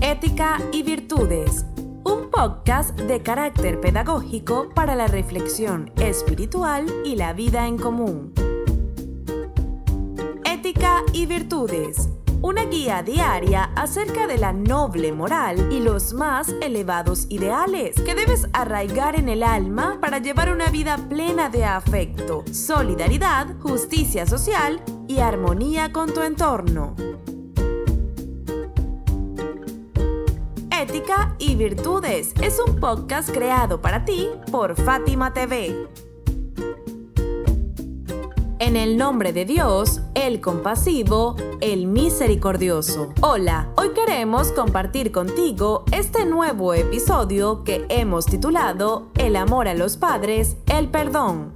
Ética y Virtudes, un podcast de carácter pedagógico para la reflexión espiritual y la vida en común. Ética y Virtudes, una guía diaria acerca de la noble moral y los más elevados ideales que debes arraigar en el alma para llevar una vida plena de afecto, solidaridad, justicia social y armonía con tu entorno. Ética y Virtudes es un podcast creado para ti por Fátima TV. En el nombre de Dios, el compasivo, el misericordioso. Hola, hoy queremos compartir contigo este nuevo episodio que hemos titulado El amor a los padres, el perdón.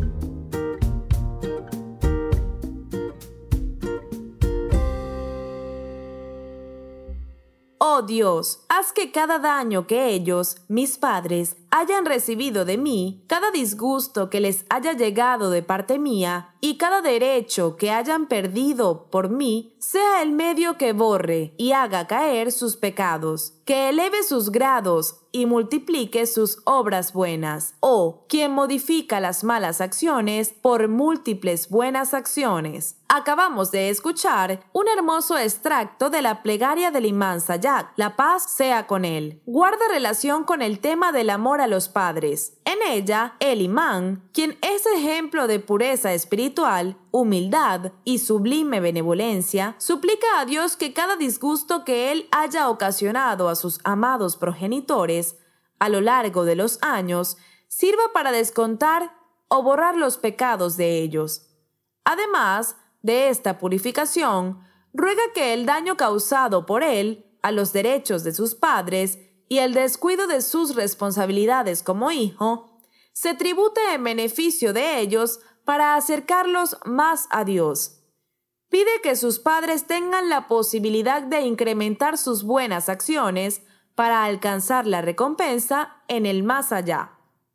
Oh Dios, haz que cada daño que ellos, mis padres, hayan recibido de mí, cada disgusto que les haya llegado de parte mía y cada derecho que hayan perdido por mí, sea el medio que borre y haga caer sus pecados, que eleve sus grados y multiplique sus obras buenas. Oh, quien modifica las malas acciones por múltiples buenas acciones. Acabamos de escuchar un hermoso extracto de la plegaria del Imán Sayak, la paz sea con él. Guarda relación con el tema del amor a los padres. En ella, el imán, quien es ejemplo de pureza espiritual, humildad y sublime benevolencia, suplica a Dios que cada disgusto que él haya ocasionado a sus amados progenitores a lo largo de los años sirva para descontar o borrar los pecados de ellos. Además de esta purificación, ruega que el daño causado por él a los derechos de sus padres y el descuido de sus responsabilidades como hijo, se tribute en beneficio de ellos para acercarlos más a Dios. Pide que sus padres tengan la posibilidad de incrementar sus buenas acciones para alcanzar la recompensa en el más allá.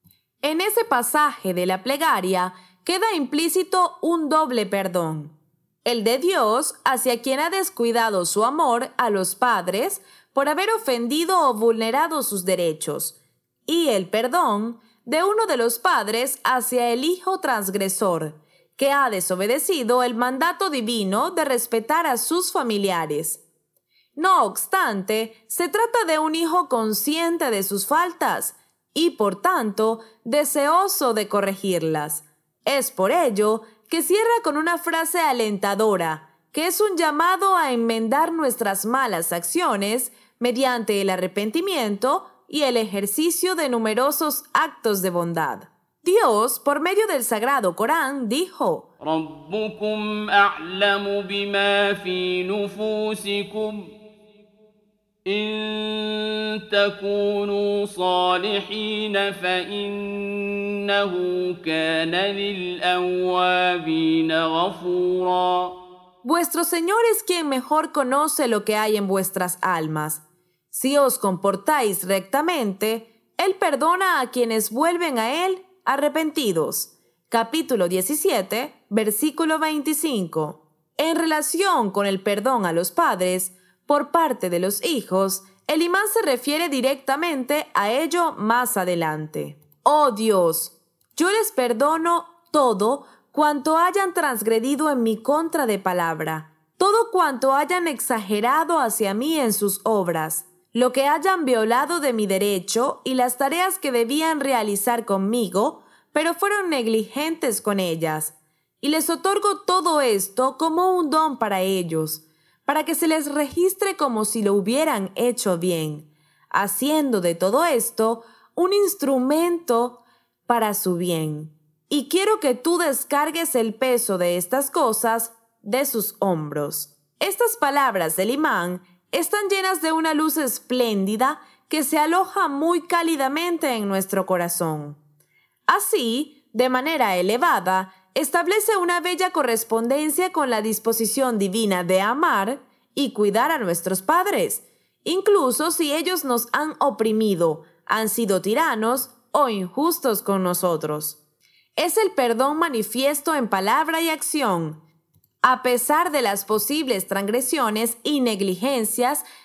En ese pasaje de la plegaria queda implícito un doble perdón: el de Dios hacia quien ha descuidado su amor a los padres por haber ofendido o vulnerado sus derechos, y el perdón de uno de los padres hacia el hijo transgresor, que ha desobedecido el mandato divino de respetar a sus familiares. No obstante, se trata de un hijo consciente de sus faltas y, por tanto, deseoso de corregirlas. Es por ello que cierra con una frase alentadora, que es un llamado a enmendar nuestras malas acciones mediante el arrepentimiento y el ejercicio de numerosos actos de bondad. Dios, por medio del Sagrado Corán, dijo: ربكم أعلم بما في نفوسكم إن تكونوا صالحين فإنه كان للأوابين غفورا. Vuestro Señor es quien mejor conoce lo que hay en vuestras almas. Si os comportáis rectamente, Él perdona a quienes vuelven a Él arrepentidos. Capítulo 17, versículo 25. En relación con el perdón a los padres por parte de los hijos, el imán se refiere directamente a ello más adelante. Oh Dios, yo les perdono todo cuanto hayan transgredido en mi contra de palabra, todo cuanto hayan exagerado hacia mí en sus obras, lo que hayan violado de mi derecho y las tareas que debían realizar conmigo, pero fueron negligentes con ellas. Y les otorgo todo esto como un don para ellos, para que se les registre como si lo hubieran hecho bien, haciendo de todo esto un instrumento para su bien. Y quiero que tú descargues el peso de estas cosas de sus hombros. Estas palabras del imán están llenas de una luz espléndida que se aloja muy cálidamente en nuestro corazón. Así, de manera elevada, establece una bella correspondencia con la disposición divina de amar y cuidar a nuestros padres, incluso si ellos nos han oprimido, han sido tiranos o injustos con nosotros. Es el perdón manifiesto en palabra y acción, a pesar de las posibles transgresiones y negligencias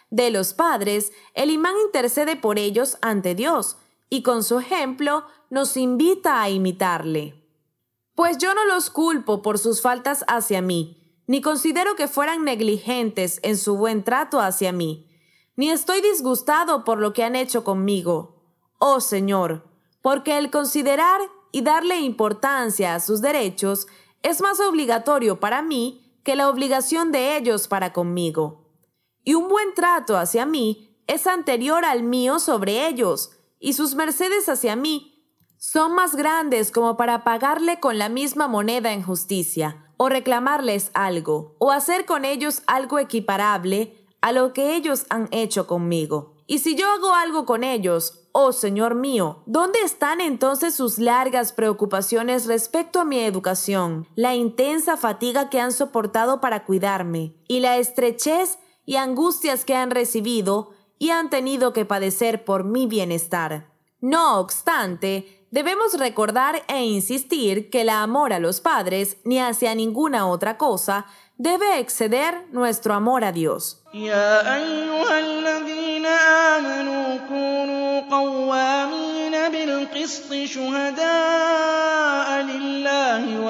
de los padres, el imán intercede por ellos ante Dios y con su ejemplo nos invita a imitarle. Pues yo no los culpo por sus faltas hacia mí, ni considero que fueran negligentes en su buen trato hacia mí, ni estoy disgustado por lo que han hecho conmigo, oh Señor, porque el considerar y darle importancia a sus derechos es más obligatorio para mí que la obligación de ellos para conmigo. Y un buen trato hacia mí es anterior al mío sobre ellos, y sus mercedes hacia mí son más grandes como para pagarle con la misma moneda en justicia, o reclamarles algo, o hacer con ellos algo equiparable a lo que ellos han hecho conmigo. Y si yo hago algo con ellos, oh Señor mío, ¿dónde están entonces sus largas preocupaciones respecto a mi educación, la intensa fatiga que han soportado para cuidarme, y la estrechez y angustias que han recibido y han tenido que padecer por mi bienestar? No obstante, debemos recordar e insistir que el amor a los padres, ni hacia ninguna otra cosa, debe exceder nuestro amor a Dios. يا أيها الذين آمنوا كونوا قوامين بالقسط شهداء لله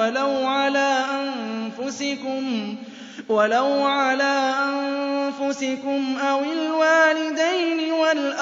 ولو على أنفسكم أو الوالدين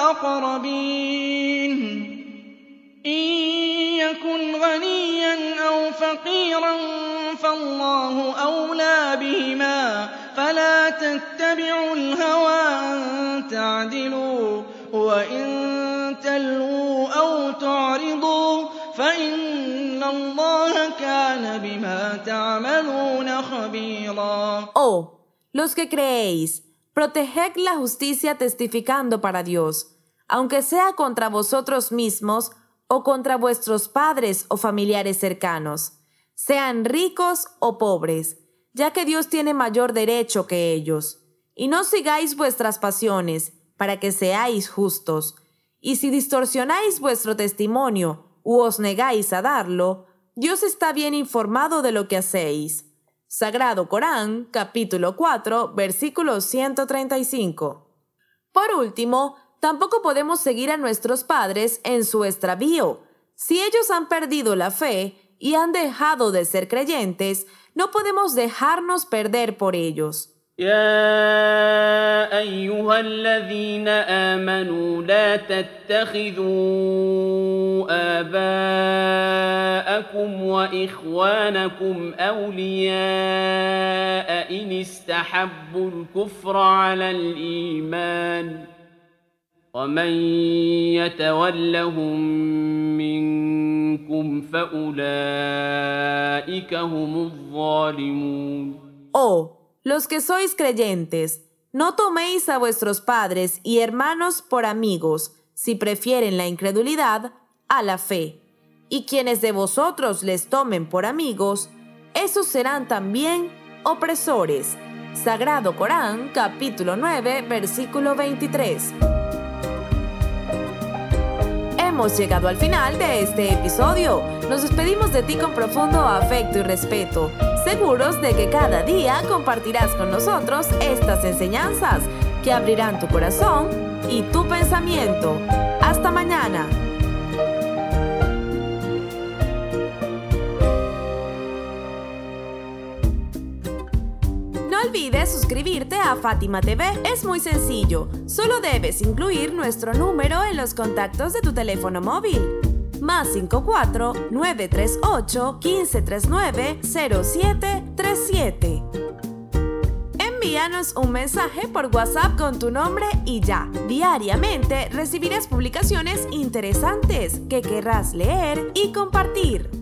والأقربين إن يكن غنيا أو فقيرا فالله أولى بهما فلا تتبعوا الهوى أن تعدلوا وإن تلووا أو تعرضوا فإن الله كان بما تعملون خبيرا. Oh, los que creéis, proteged la justicia testificando para Dios, aunque sea contra vosotros mismos o contra vuestros padres o familiares cercanos, sean ricos o pobres, ya que Dios tiene mayor derecho que ellos. Y no sigáis vuestras pasiones, para que seáis justos. Y si distorsionáis vuestro testimonio u os negáis a darlo, Dios está bien informado de lo que hacéis. Sagrado Corán, capítulo 4, versículo 135. Por último, tampoco podemos seguir a nuestros padres en su extravío. Si ellos han perdido la fe y han dejado de ser creyentes, no podemos dejarnos perder por ellos. يا أيها الذين آمنوا لا تتخذوا آباءكم وإخوانكم أولياء إن استحبوا الكفر على الإيمان ومن يتولهم منكم فأولئك هم الظالمون. Los que sois creyentes, no toméis a vuestros padres y hermanos por amigos, si prefieren la incredulidad a la fe. Y quienes de vosotros les tomen por amigos, esos serán también opresores. Sagrado Corán, capítulo 9, versículo 23. Hemos llegado al final de este episodio. Nos despedimos de ti con profundo afecto y respeto, seguros de que cada día compartirás con nosotros estas enseñanzas que abrirán tu corazón y tu pensamiento. ¡Hasta mañana! No olvides suscribirte a Fátima TV. Es muy sencillo. Solo debes incluir nuestro número en los contactos de tu teléfono móvil. +54 938 1539 0737. Envíanos un mensaje por WhatsApp con tu nombre y ya. Diariamente recibirás publicaciones interesantes que querrás leer y compartir.